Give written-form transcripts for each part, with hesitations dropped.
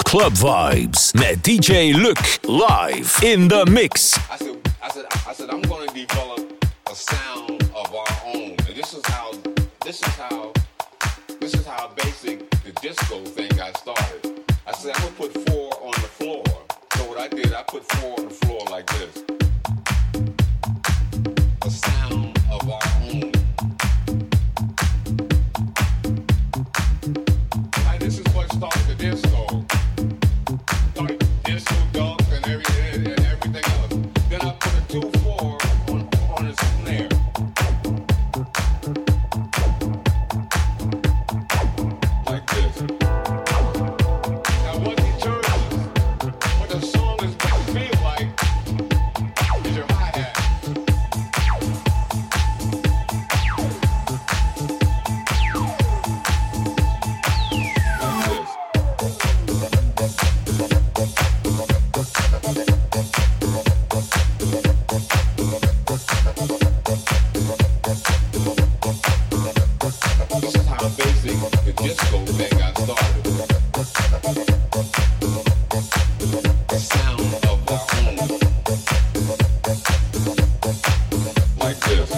Club Vibes met DJ Luc live in the mix. I said, I'm going to develop a sound of our own, and this is how basic the disco thing got started. I said, I'm going to put 4 on the floor. So what I did, I put 4 on the floor like this. A sound of our own. Like, this is what started the disco. Started disco dunk and everything else. Then I put a 2-4 on the snare. Like this. Now what determines what the song is going to feel like is your hi-hat. This is how basic the disco thing got started. The sound of our own. Like this.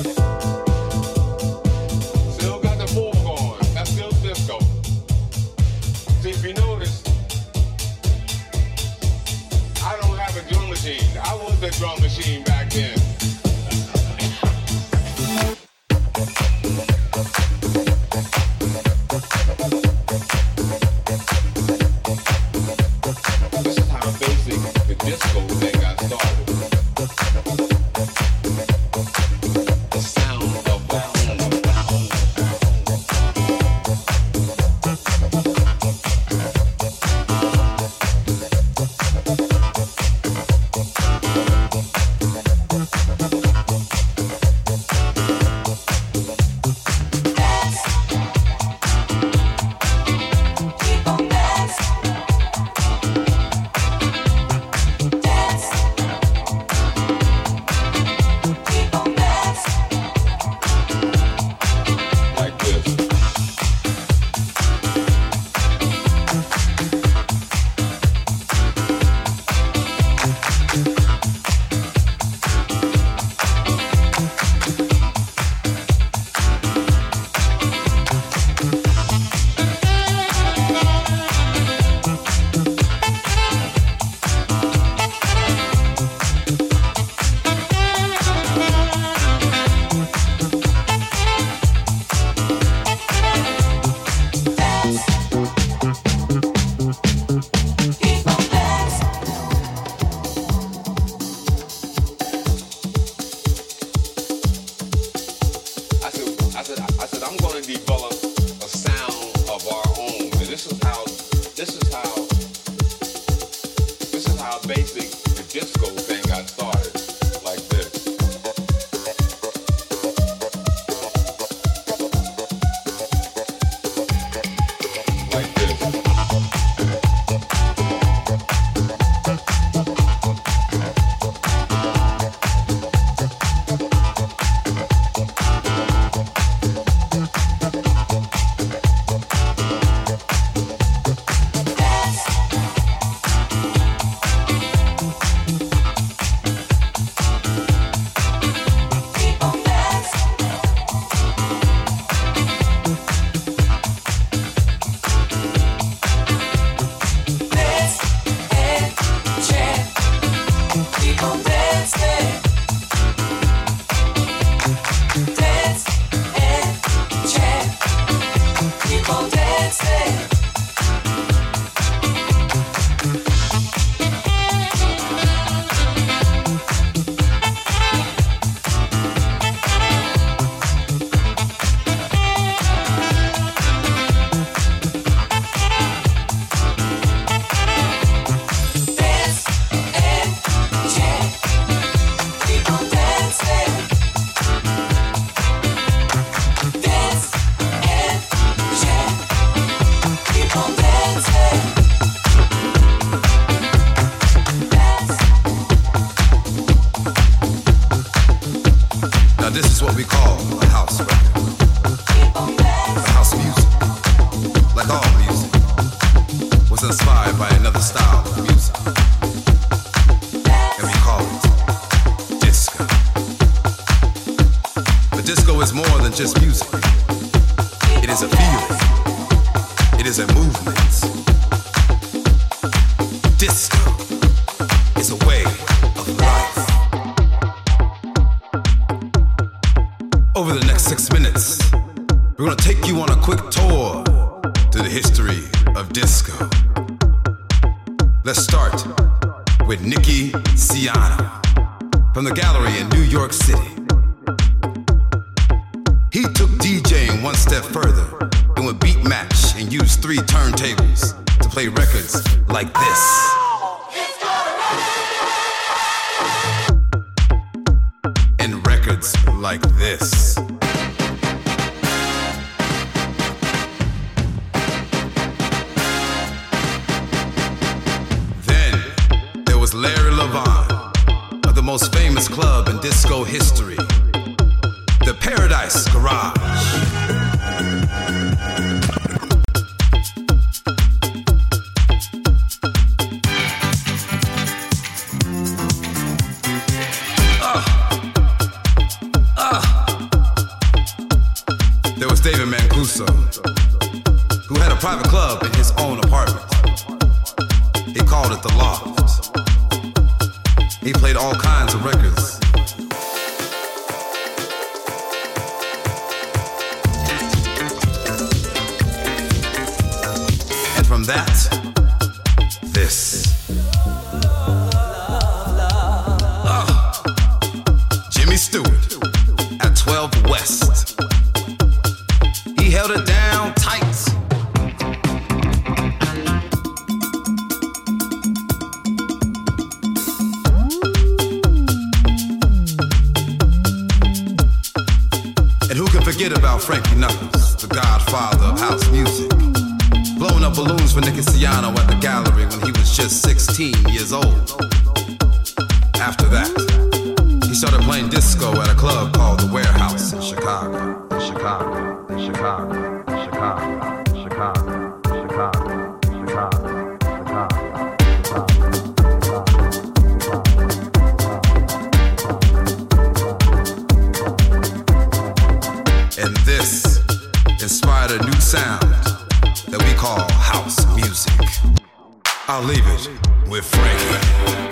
Still got the 4 going. That's still disco. See, if you notice, I don't have a drum machine. I was the drum machine back then. This is how basic the disco thing got started. The sound of our own. Like this. I said, I'm going to develop a sound of our own, and this is how basic the disco thing got started. Like this. Like this. just music. It is a feeling. It is a movement. Disco is a way of life. Over the next 6 minutes, we're gonna take you on a quick tour through the history of disco. Let's start with Nicky Siano from the Gallery in New York City. He took DJing one step further and would beat match and use 3 turntables to play records like this. And records like this. Then there was Larry Levan of the most famous club in disco history, the Paradise Garage. There was David Mancuso, who had a private club in his own apartment. He called it The Loft. He played all kinds of records. And from that, this. Jimmy Stewart at 12 West. He held it down tight. And who can forget about Frankie Knuckles, the godfather of house music, blowing up balloons for Nicky Siano at the Gallery when he was just 16 years old. After that, he started playing disco at a club called The Warehouse in Chicago. Chicago, Chicago, Chicago, Chicago, Chicago, Chicago, and this inspired a new sound that we call house music. I'll leave it with Frankie.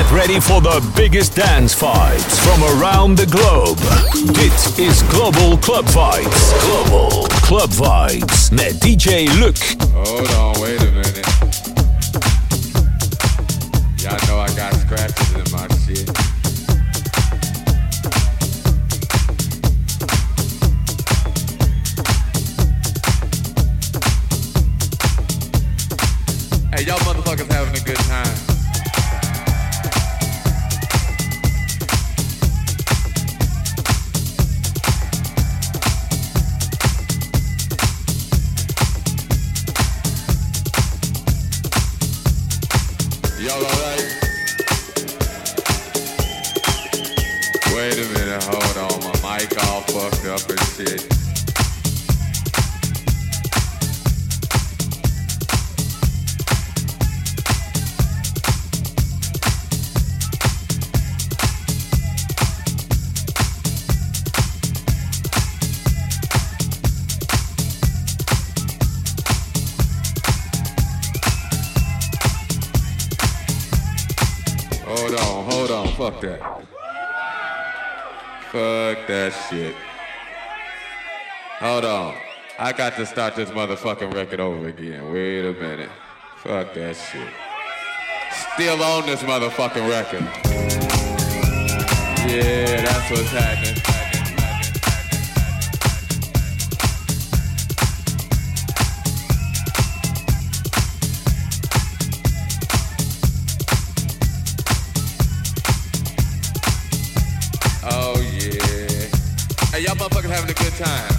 Get ready for the biggest dance vibes from around the globe. Dit is Global Club Vibes. Global Club Vibes met DJ Luc. Hold on, wait a minute. Y'all know I got scratches in my shit. Hey, y'all motherfuckers having a good time. Y'all alright? Wait a minute, hold on. My mic all fucked up and shit. Hold on, fuck that. Fuck that shit. Hold on. I got to start this motherfucking record over again. Wait a minute. Fuck that shit. Still on this motherfucking record. Yeah, that's what's happening. Hey, y'all motherfuckers having a good time.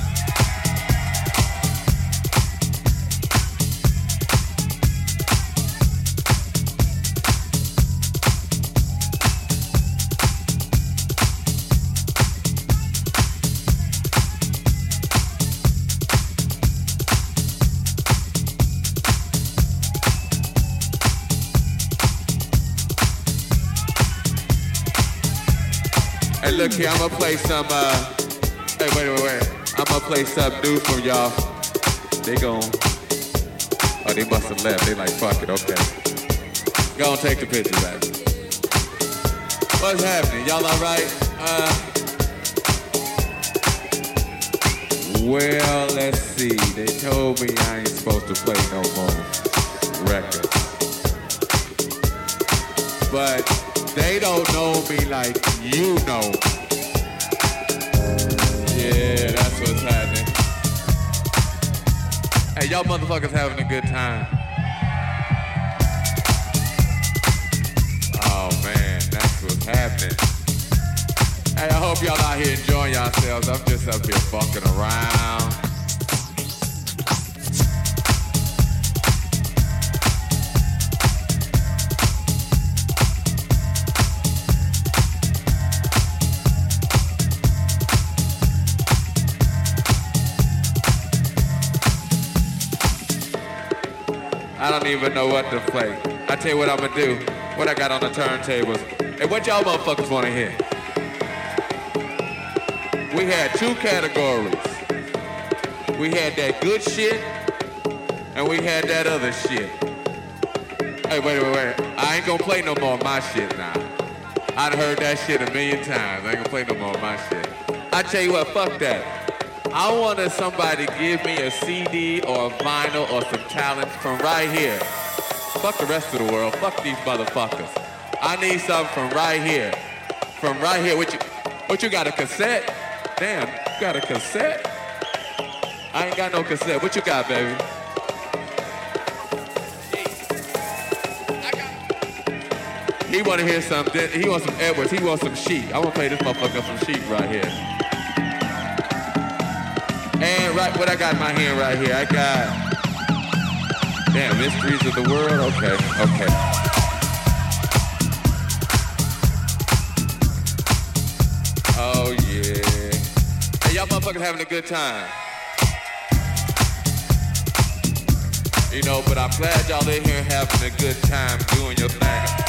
Hey, look here, I'm gonna play some, hey, wait. I'm gonna play something new from y'all. They gon', oh, they must have left. They like, fuck it, okay. Go on, take the picture back. What's happening? Y'all alright? Well, let's see. They told me I ain't supposed to play no more records. But they don't know me like you know. Yeah, that's what's happening. Hey, y'all motherfuckers having a good time. Oh man, that's what's happening. Hey, I hope y'all out here enjoying yourselves. I'm just up here fucking around. I don't even know what to play. I tell you what I'm gonna do. What I got on the turntables. Hey, what y'all motherfuckers wanna hear? We had two categories. We had that good shit, and we had that other shit. Hey, wait. I ain't gonna play no more of my shit now. I done heard that shit a million times. I ain't gonna play no more of my shit. I tell you what, fuck that. I wanted somebody to give me a CD or a vinyl or some talent from right here. Fuck the rest of the world. Fuck these motherfuckers. I need something from right here. From right here. What you got, a cassette? Damn, you got a cassette? I ain't got no cassette. What you got, baby? He want to hear something. He wants some Edwards. He wants some Sheep. I want to play this motherfucker some Sheep right here. And right, what I got in my hand right here, I got, damn, Mysteries of the World. Okay. Oh yeah. Hey, y'all motherfuckers having a good time. You know, but I'm glad y'all in here having a good time doing your thing.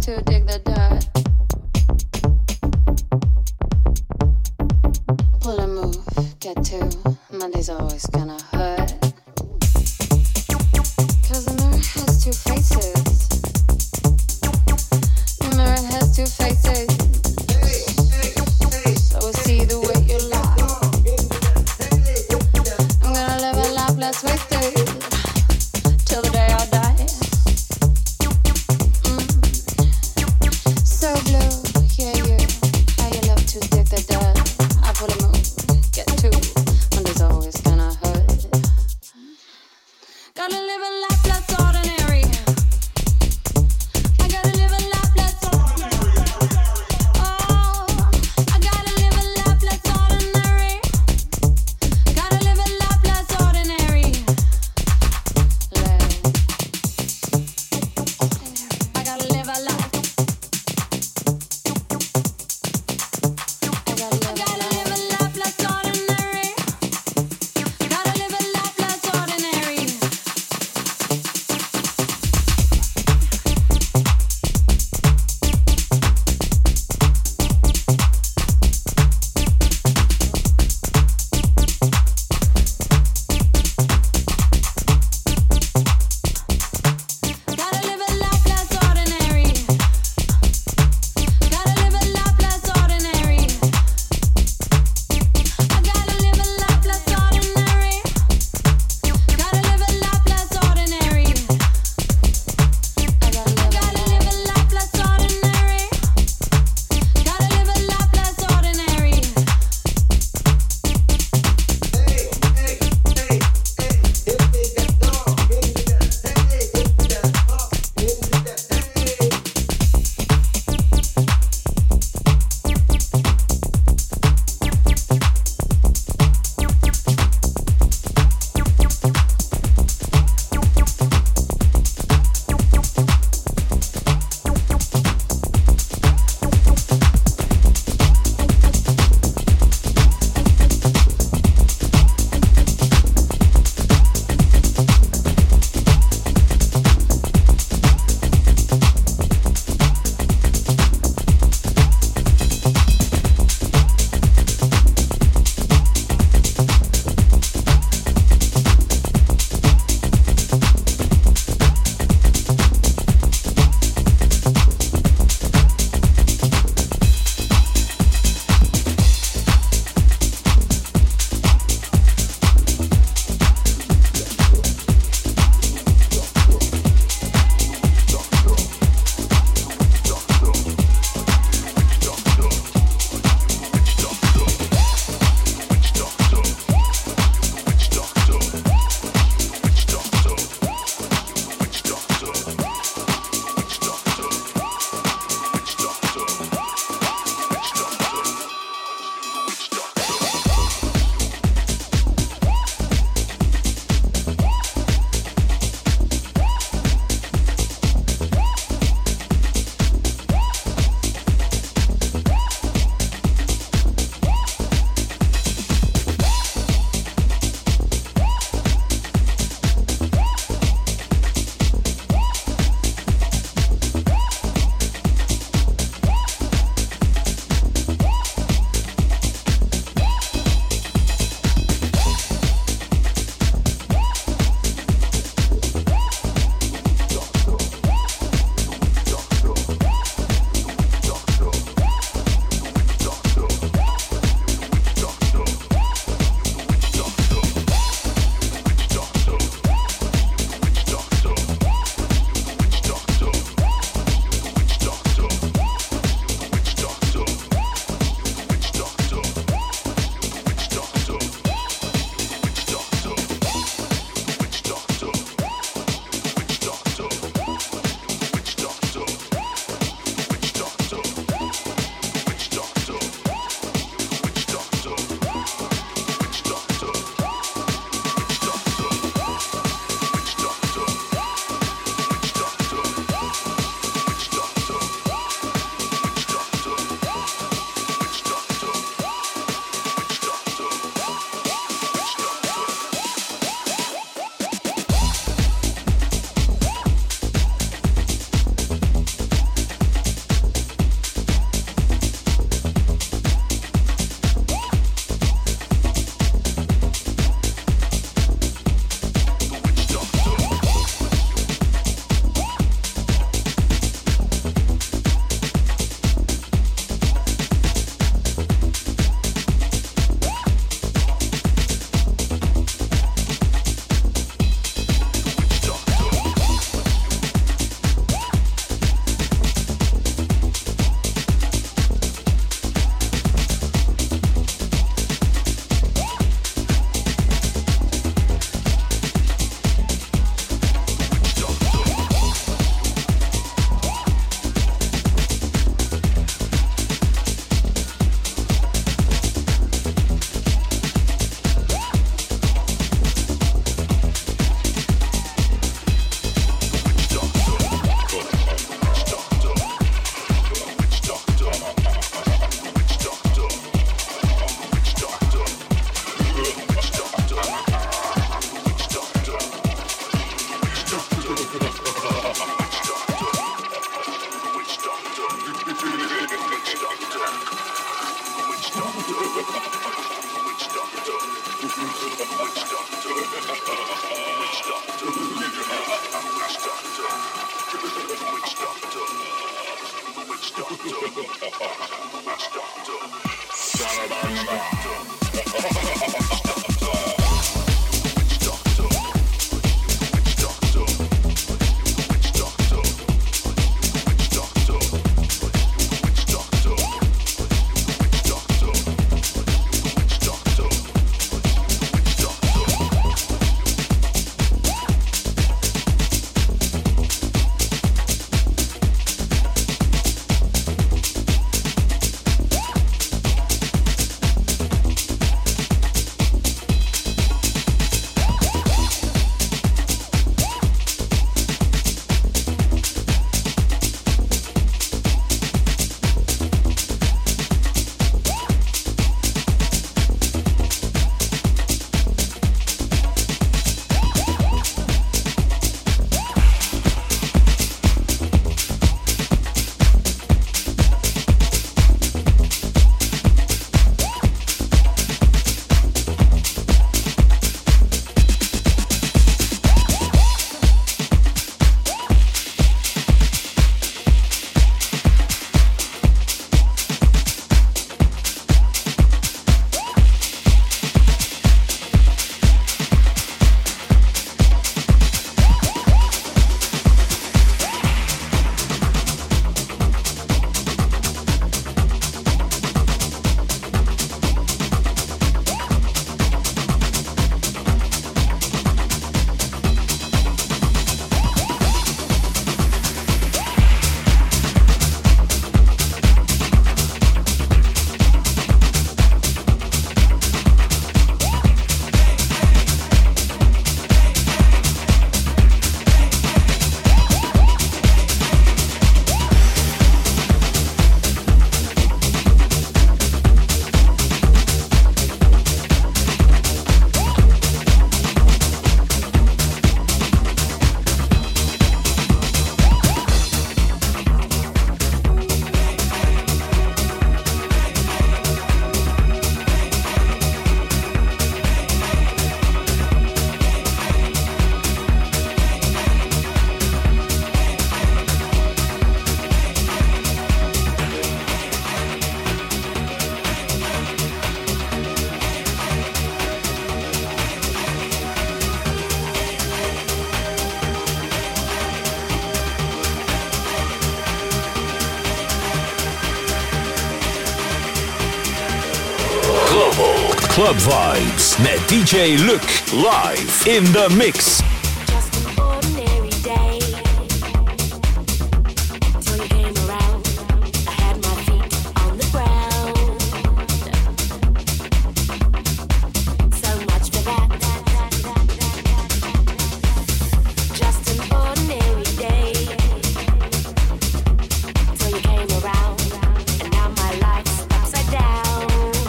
to dig the dirt. Pull a move, get to. Monday's always gonna hurt. 'Cause the mirror has two faces. The mirror has two faces. So I see the way you lie. I'm gonna live a life less wasted till the day I die. So blue, yeah, you. How you love to dig the dirt. I pull a move, get to. Monday's always gonna hurt. Gotta live a life less ordinary. I gotta live a life less ordinary. Oh, I gotta live a life less ordinary. Gotta live a life less ordinary. Club Vibes met DJ Luc live in the mix.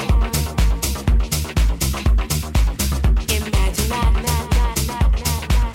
Imagine that.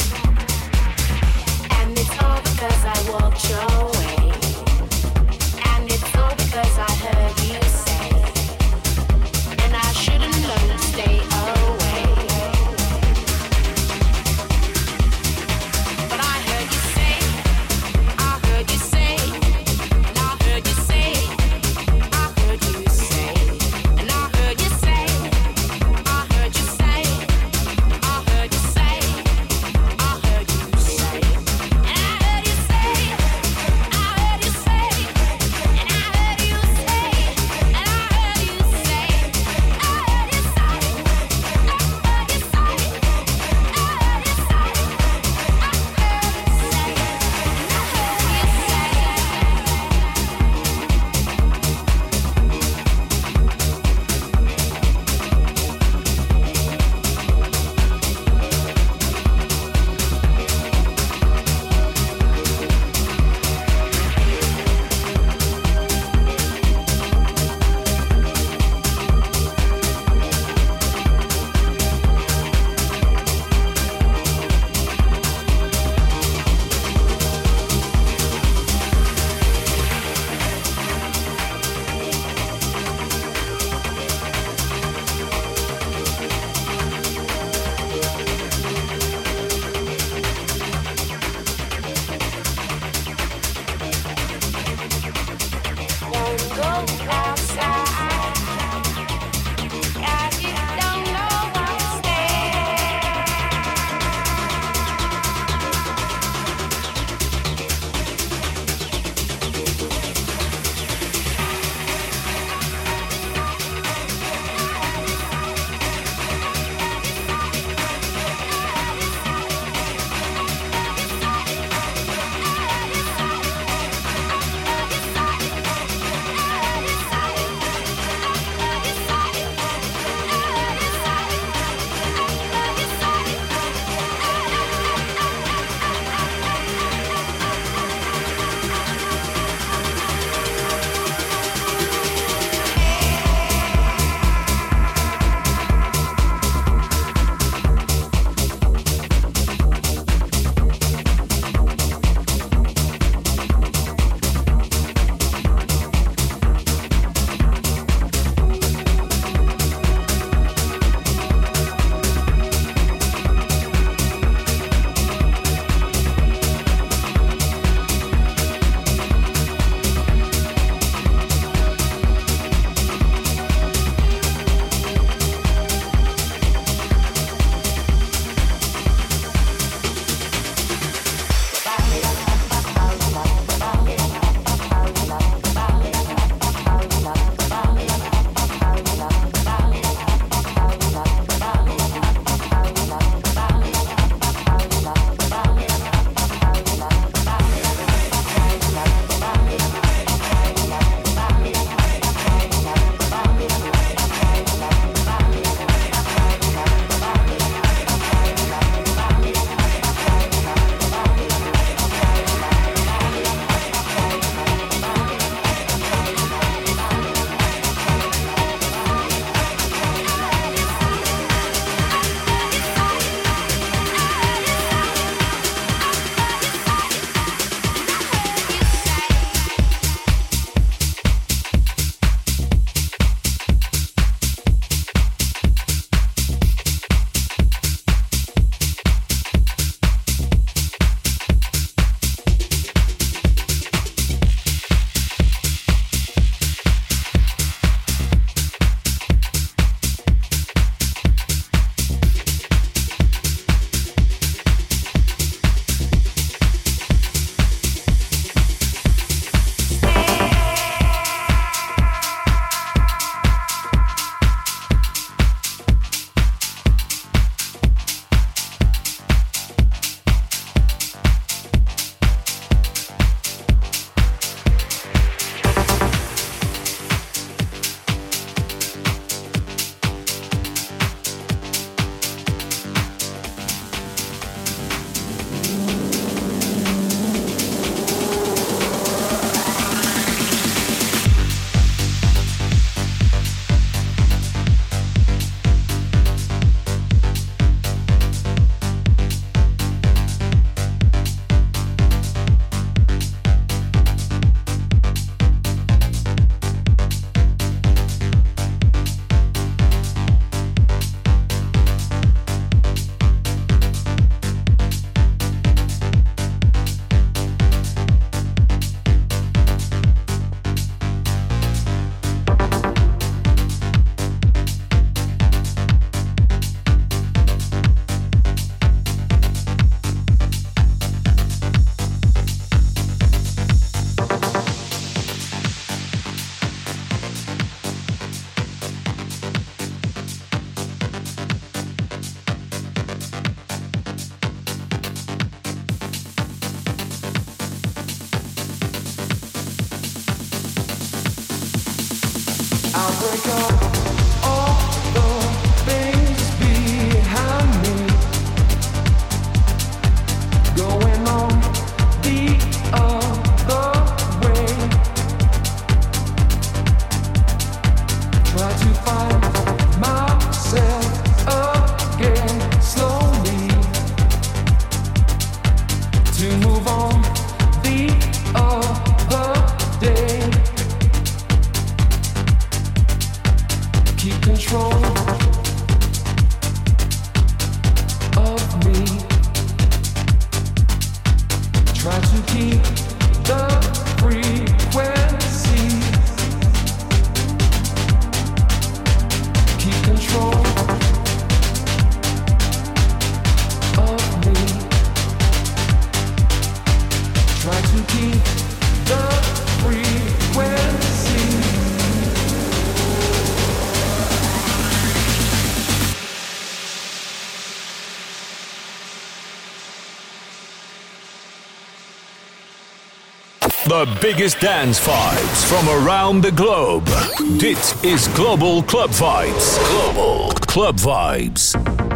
The biggest dance vibes from around the globe. Dit is Global Club Vibes. Global Club Vibes.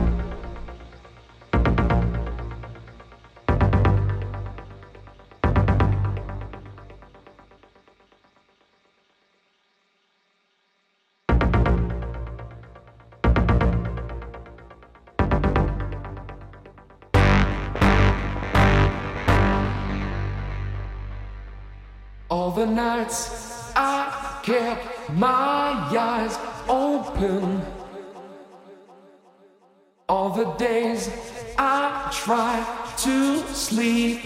All the nights I kept my eyes open. All the days I tried to sleep.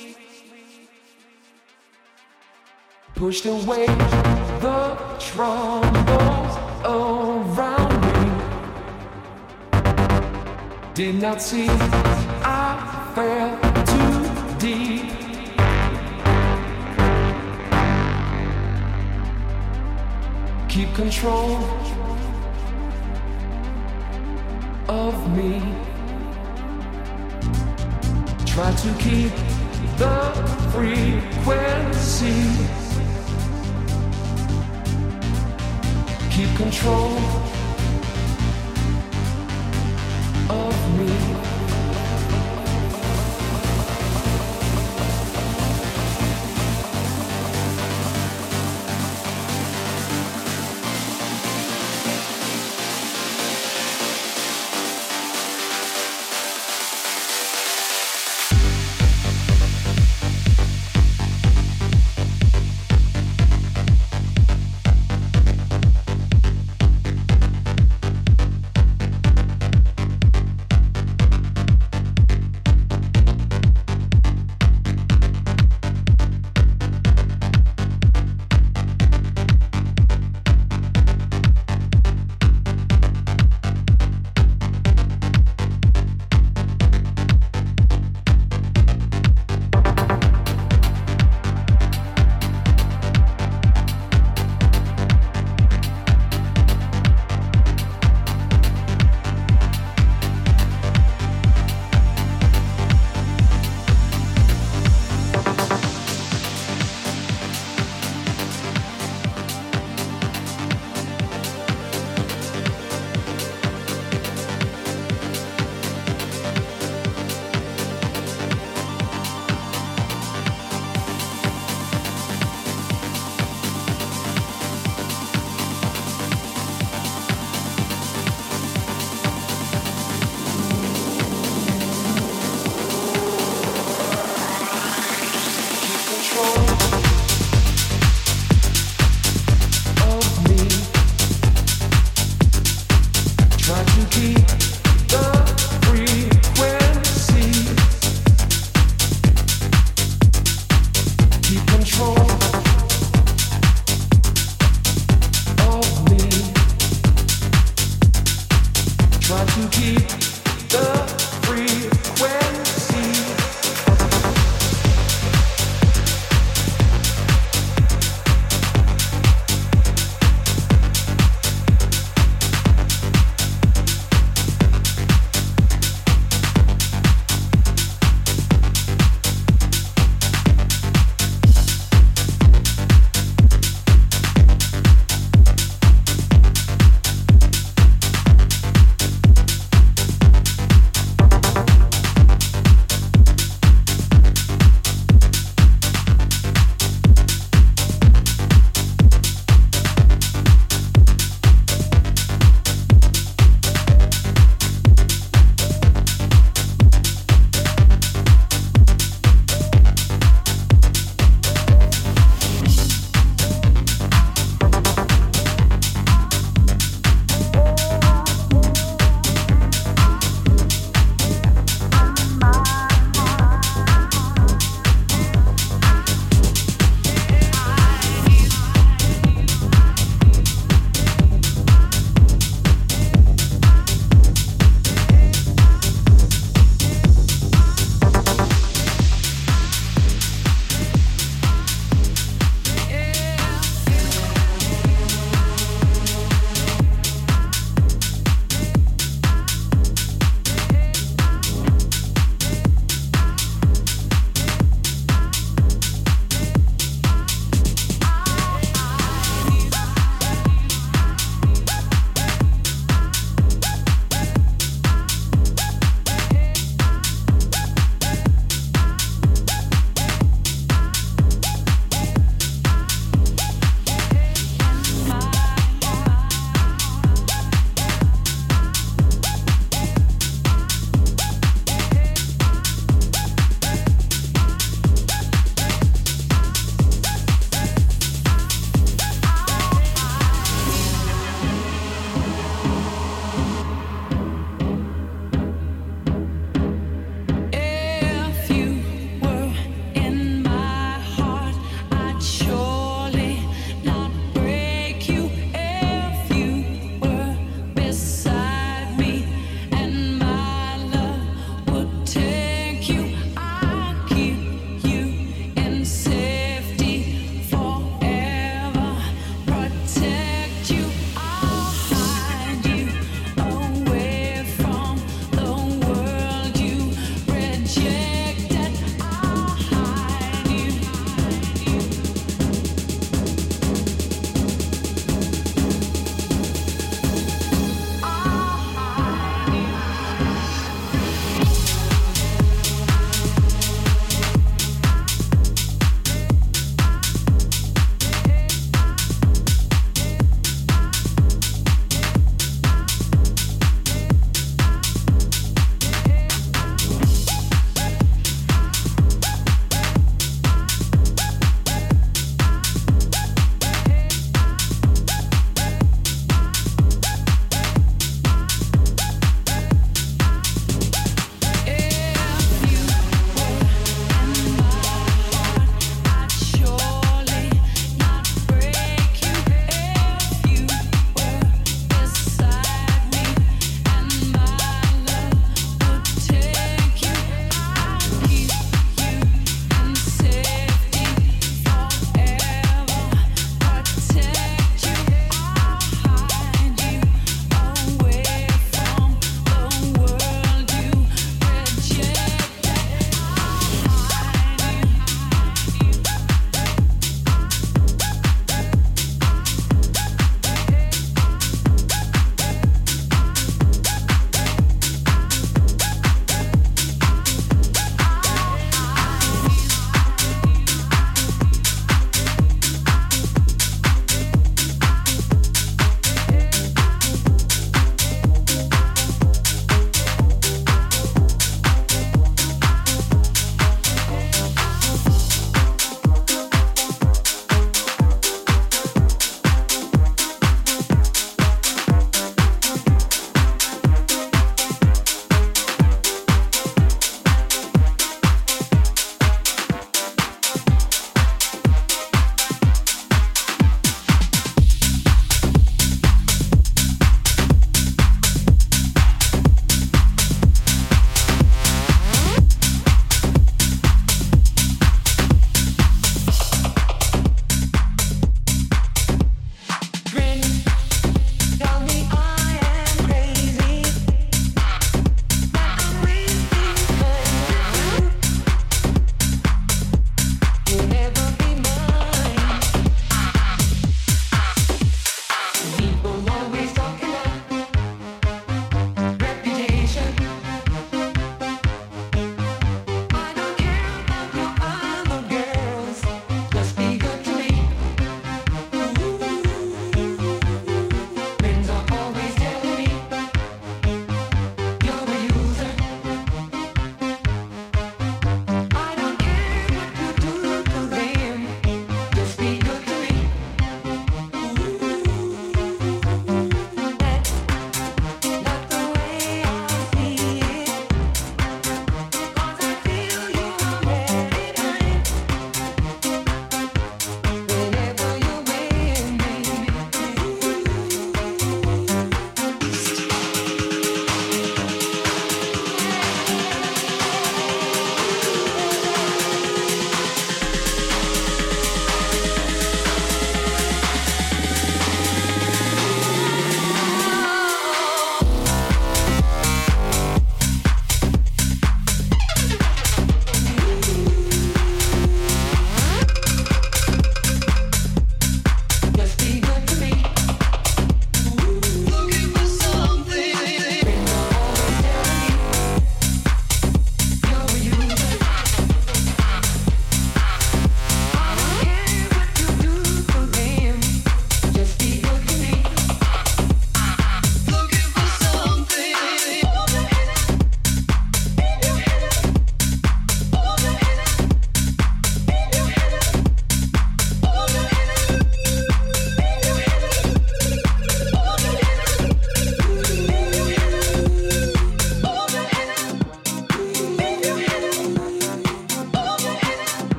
Pushed away the troubles around me. Did not see I fell too deep. Keep control of me. Try to keep the frequency. Keep control of me.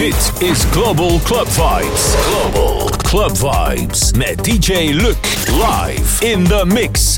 Dit is Global Club Vibes. Global Club Vibes met DJ Luc live in the mix.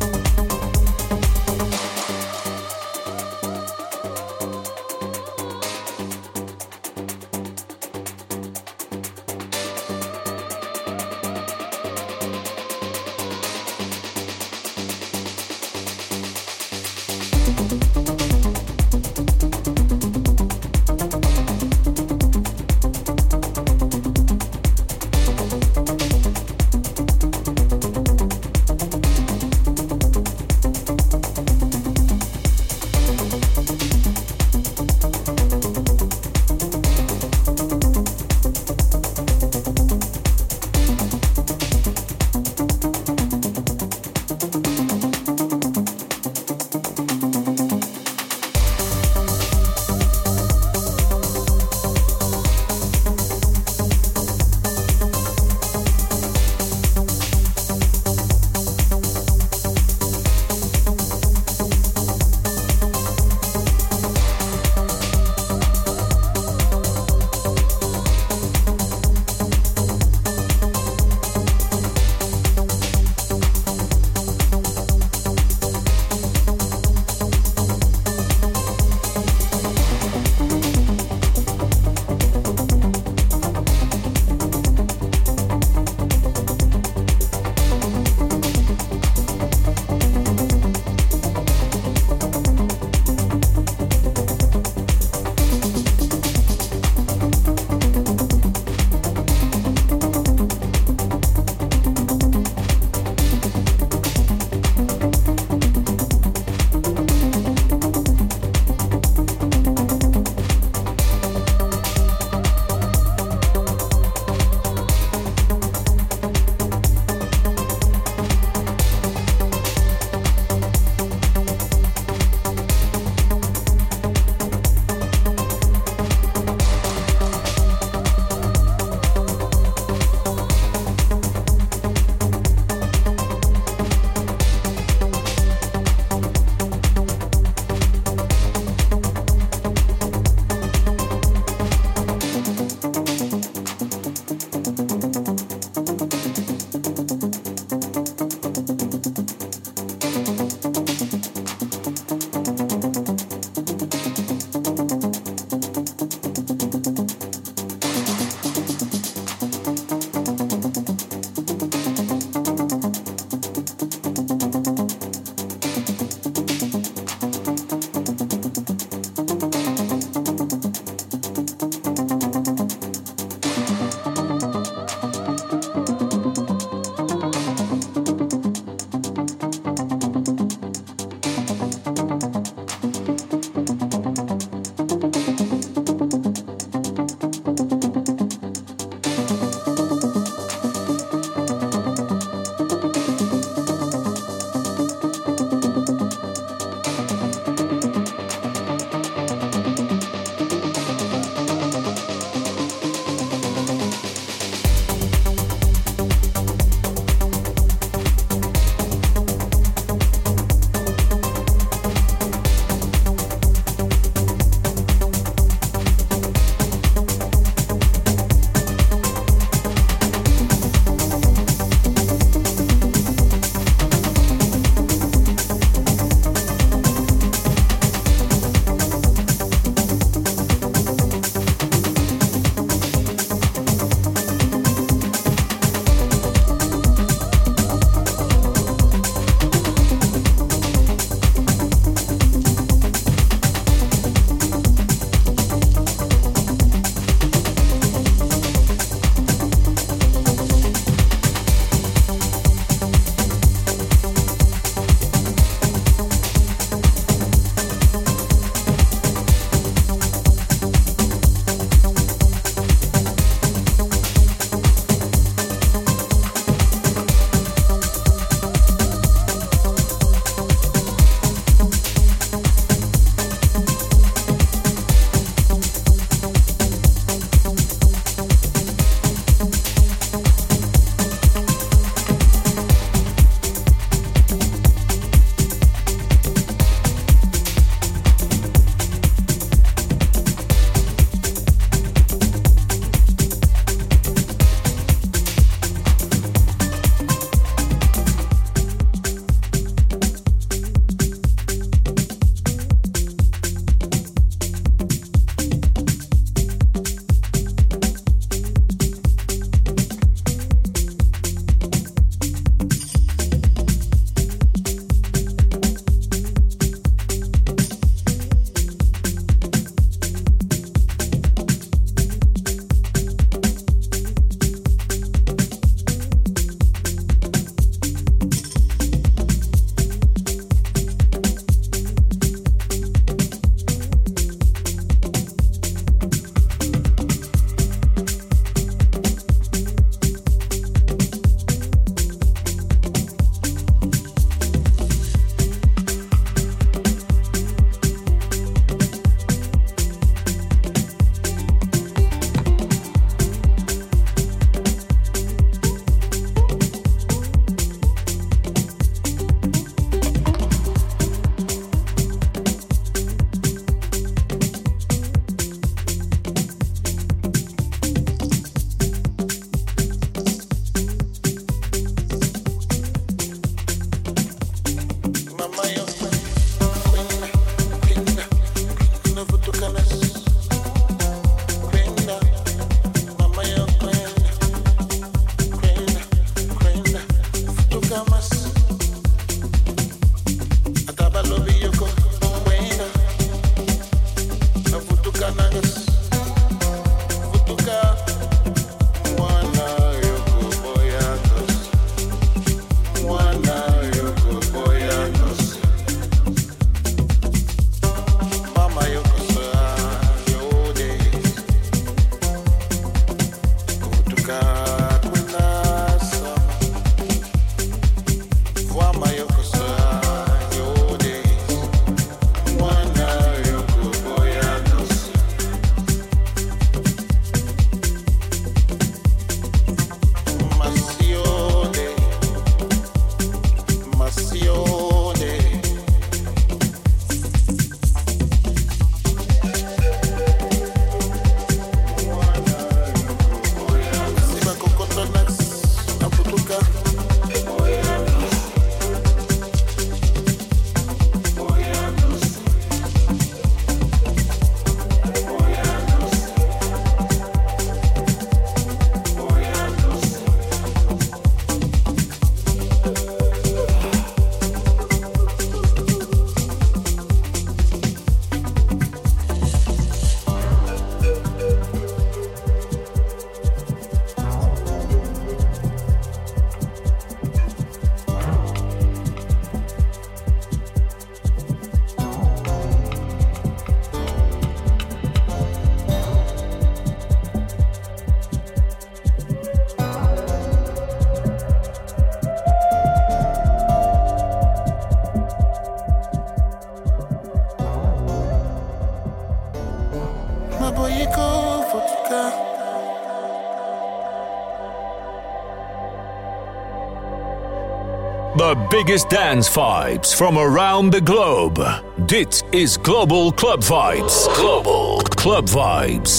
The biggest dance vibes from around the globe. Dit is Global Club Vibes. Global Club Vibes.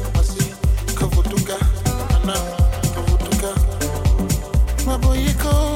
My boy, you go.